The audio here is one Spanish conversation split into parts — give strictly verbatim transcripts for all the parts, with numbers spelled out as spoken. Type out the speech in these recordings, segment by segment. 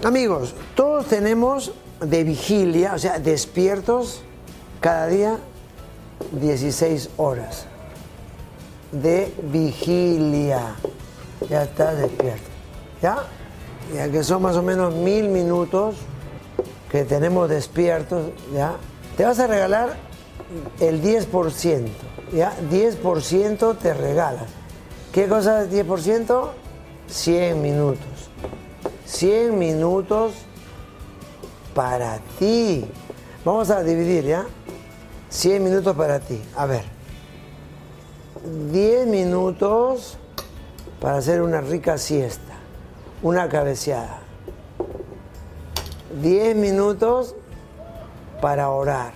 Amigos, todos tenemos de vigilia, o sea, despiertos cada día dieciséis horas. De vigilia. Ya estás despierto. ¿Ya? Ya que son más o menos mil minutos que tenemos despiertos, ¿ya? Te vas a regalar el diez por ciento, ¿ya? diez por ciento te regalas. ¿Qué cosa es diez por ciento? cien minutos. cien minutos para ti. Vamos a dividir, ¿ya? cien minutos para ti. A ver. diez minutos para hacer una rica siesta, una cabeceada. diez minutos para orar,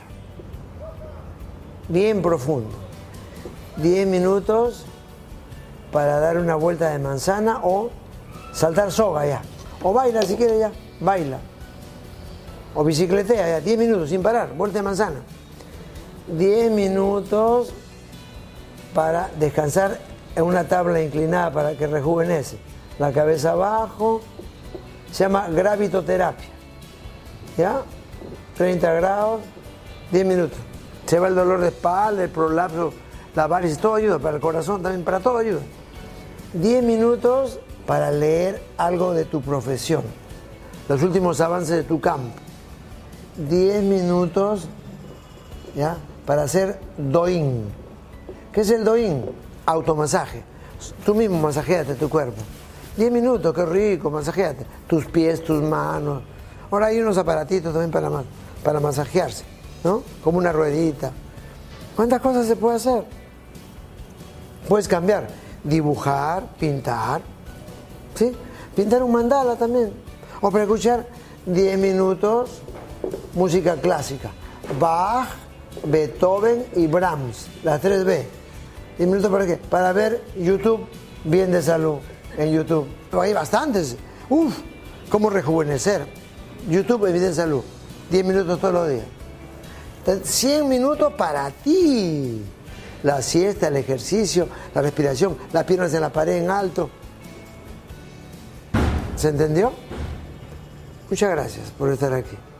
bien profundo. diez minutos para dar una vuelta de manzana o saltar soga ya. O baila si quieres ya, baila. O bicicletea ya, diez minutos sin parar, vuelta de manzana. diez minutos para descansar en una tabla inclinada para que rejuvenece. La cabeza abajo, se llama gravitoterapia. ¿Ya? treinta grados, diez minutos. Se va el dolor de espalda, el prolapso, la varices, todo ayuda, para el corazón también, para todo ayuda. diez minutos para leer algo de tu profesión, los últimos avances de tu campo. diez minutos, ¿ya? Para hacer doín. ¿Qué es el doín? Automasaje. Tú mismo masajeate tu cuerpo. diez minutos, qué rico, masajeate. Tus pies, tus manos. Ahora hay unos aparatitos también para, para masajearse, ¿no? Como una ruedita. ¿Cuántas cosas se puede hacer? Puedes cambiar. Dibujar, pintar. ¿Sí? Pintar un mandala también. O para escuchar diez minutos música clásica. Bach, Beethoven y Brahms. Las tres B. diez minutos para qué? Para ver YouTube bien de salud en YouTube. Hay bastantes. Uf, cómo rejuvenecer. YouTube bien de salud. diez minutos todos los días. cien minutos para ti. La siesta, el ejercicio, la respiración, las piernas en la pared en alto. ¿Se entendió? Muchas gracias por estar aquí.